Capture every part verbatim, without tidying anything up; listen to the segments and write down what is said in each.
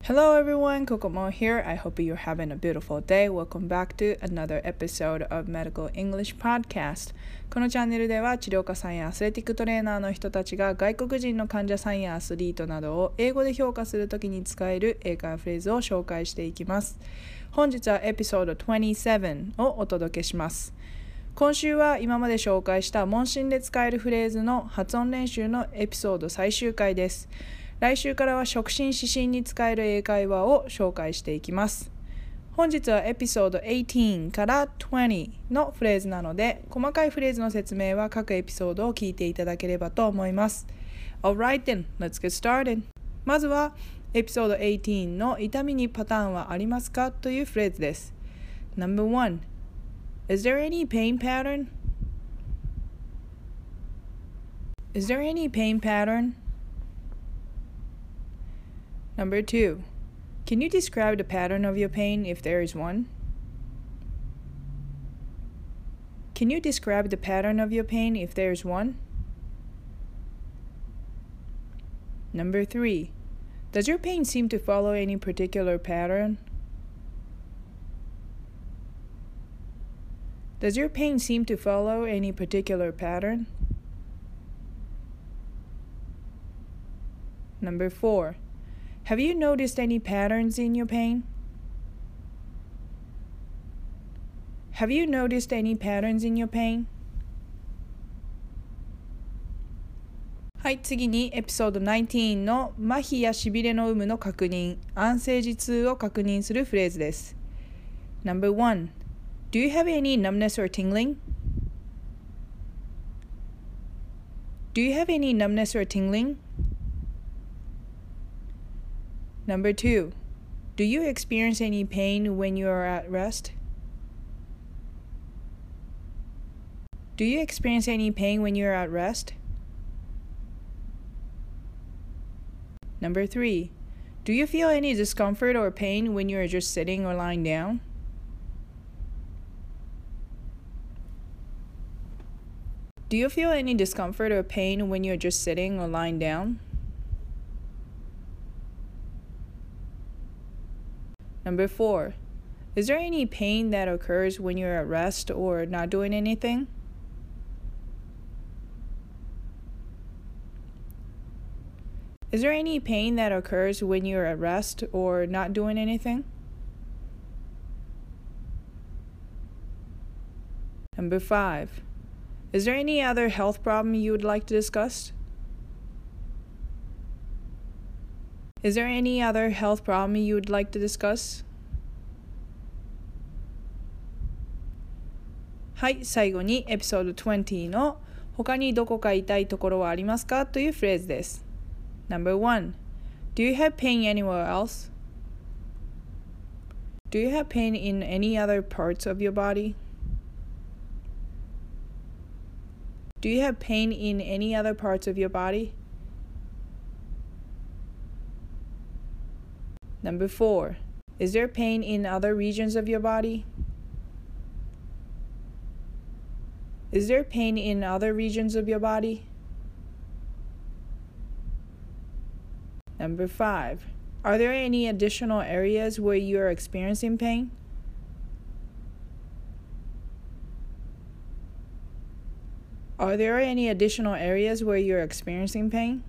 Hello everyone, Kokomo here. I hope you're having a beautiful day. Welcome back to another episode of Medical English Podcast. このチャンネルでは治療家さんやアスレティックトレーナーの人たちが外国人の患者さんやアスリートなどを英語で評価するときに使える英会話フレーズを紹介していきます。本日はエピソードにじゅうななをお届けします。今週は今まで紹介した問診で使えるフレーズの発音練習のエピソード最終回です。来週からは触診指針に使える英会話を紹介していきます。本日はエピソードじゅうはちからにじゅうのフレーズなので、細かいフレーズの説明は各エピソードを聞いていただければと思います。Alright then, let's get started. まずはエピソードじゅうはちの痛みにパターンはありますかというフレーズです。ナンバーワン Is there any pain pattern? Is there any pain pattern?Number two, can you describe the pattern of your pain if there is one? Can you describe the pattern of your pain if there is one? Number three, does your pain seem to follow any particular pattern? Does your pain seem to follow any particular pattern? Number four,Have you noticed any patterns in your pain? Have you noticed any patterns in your pain? はい、次にエピソードじゅうきゅうの麻痺やしびれの有無の確認、安静時痛を確認するフレーズです。ナンバーワン Do you have any numbness or tingling? Do you have any numbness or tingling?Number two, do you experience any pain when you are at rest? Do you experience any pain when you are at rest? Number three, do you feel any discomfort or pain when you are just sitting or lying down? Do you feel any discomfort or pain when you are just sitting or lying down?Number four, is there any pain that occurs when you're at rest or not doing anything? Is there any pain that occurs when you're at rest or not doing anything? Number five, is there any other health problem you would like to discuss?Is there any other health problem you would like to discuss? はい、最後にエピソードにじゅうの他にどこか痛いところはありますかというフレーズです。ナンバーワン Do you have pain anywhere else? Do you have pain in any other parts of your body? Do you have pain in any other parts of your body?Number four, is there pain in other regions of your body? Is there pain in other regions of your body? Number five, are there any additional areas where you are experiencing pain? Are there any additional areas where you are experiencing pain?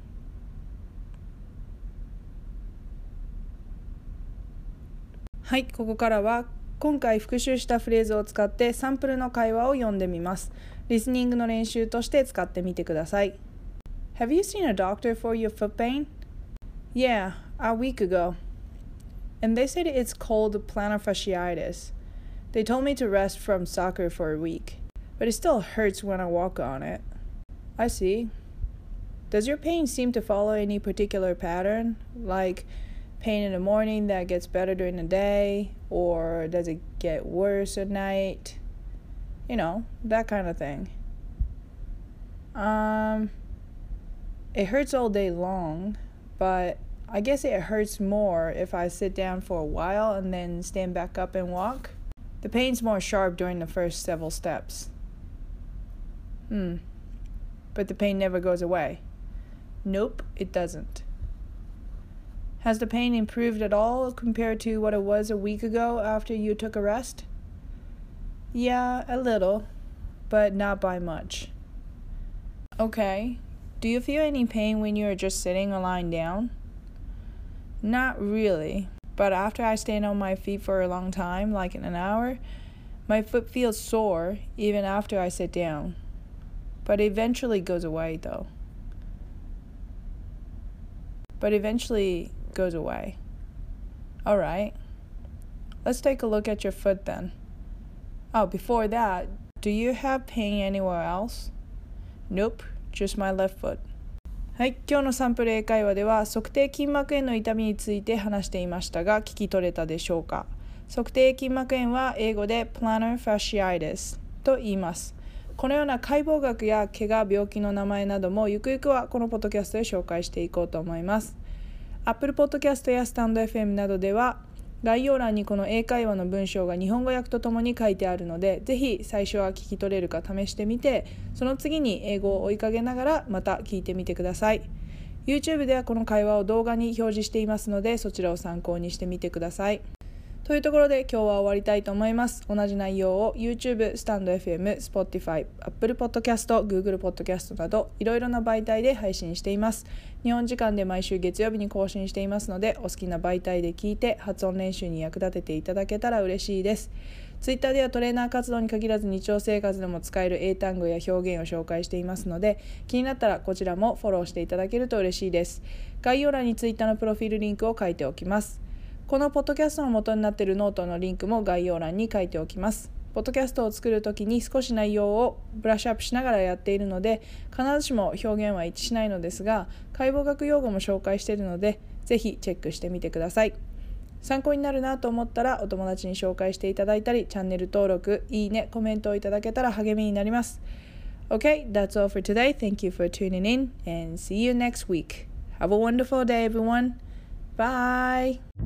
はい、ここからは今回復習したフレーズを使ってサンプルの会話を読んでみます。リスニングの練習として使ってみてください。Have you seen a doctor for your foot pain? Yeah, a week ago. And they said it's called plantar fasciitis. They told me to rest from soccer for a week, but it still hurts when I walk on it. I see. Does your pain seem to follow any particular pattern, like pain in the morning that gets better during the day, or does it get worse at night? You know, that kind of thing. Um, it hurts all day long, but I guess it hurts more if I sit down for a while and then stand back up and walk. The pain's more sharp during the first several steps. Hmm. But the pain never goes away. Nope, it doesn't. Has the pain improved at all compared to what it was a week ago after you took a rest? Yeah, a little, but not by much. Okay. Do you feel any pain when you're just sitting or lying down? Not really, but after I stand on my feet for a long time, like in an hour, my foot feels sore even after I sit down. But it eventually goes away though. But eventually goes away. Alright. Let's take a look at your foot then. Oh, before that, do you have pain anywhere else? Nope, just my left foot. はい、今日のサンプル英会話では足底筋膜炎の痛みについて話していましたが、聞き取れたでしょうか。足底筋膜炎は英語で plantar fasciitis と言います。このような解剖学や怪我、病気の名前などもゆくゆくはこのポッドキャストで紹介していこうと思います。Apple Podcast やスタンド エフエム などでは概要欄にこの英会話の文章が日本語訳とともに書いてあるので、ぜひ最初は聞き取れるか試してみて、その次に英語を追いかけながらまた聞いてみてください。YouTube ではこの会話を動画に表示していますので、そちらを参考にしてみてください。というところで今日は終わりたいと思います。同じ内容を YouTube、スタンド エフエム、Spotify、Apple Podcast、Google Podcast などいろいろな媒体で配信しています。日本時間で毎週月曜日に更新していますので、お好きな媒体で聞いて発音練習に役立てていただけたら嬉しいです。Twitter ではトレーナー活動に限らず日常生活でも使える英単語や表現を紹介していますので、気になったらこちらもフォローしていただけると嬉しいです。概要欄に Twitter のプロフィールリンクを書いておきます。このポッドキャストの元になっているノートのリンクも概要欄に書いておきます。ポッドキャストを作るときに少し内容をブラッシュアップしながらやっているので、必ずしも表現は一致しないのですが、解剖学用語も紹介しているので、ぜひチェックしてみてください。参考になるなと思ったらお友達に紹介していただいたり、チャンネル登録、いいね、コメントをいただけたら励みになります。Okay, that's all for today. Thank you for tuning in and see you next week. Have a wonderful day, everyone. Bye!